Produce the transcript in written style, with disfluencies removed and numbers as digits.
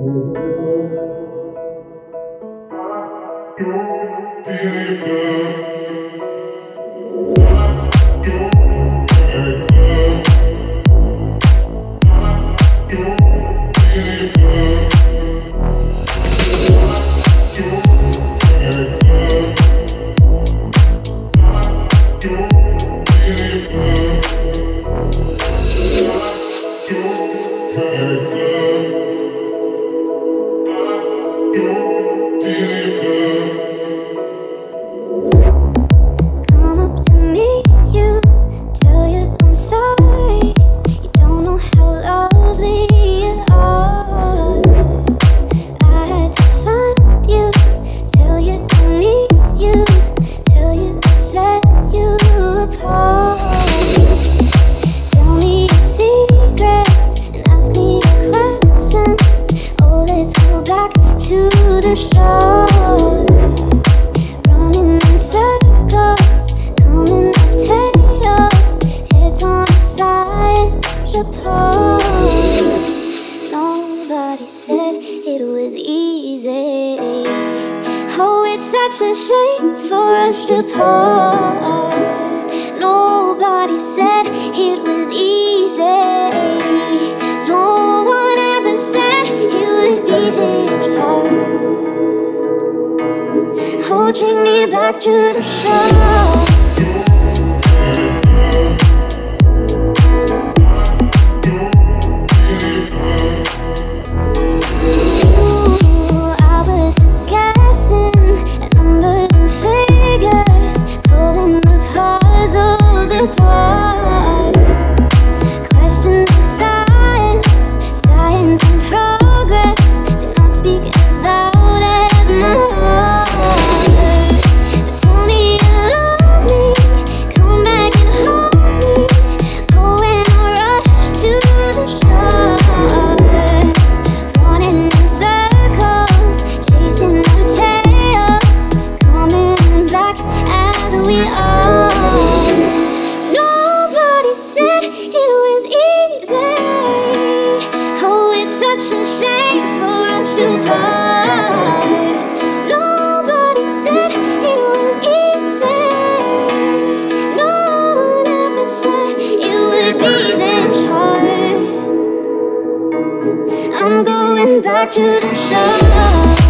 Nobody said it was easy. Oh, it's such a shame for us to part. Nobody said it was easy. No one ever said it would be this hard. Oh, take me back to the start. Questions of science, science and progress do not speak as loud as my heart. So tell me you love me, come back and hold me. Oh, when I rush to the start, running in circles, chasing our tails, coming back as we are. Such a shame for us to part. Nobody said it was easy. No one ever said it would be this hard. I'm going back to the start.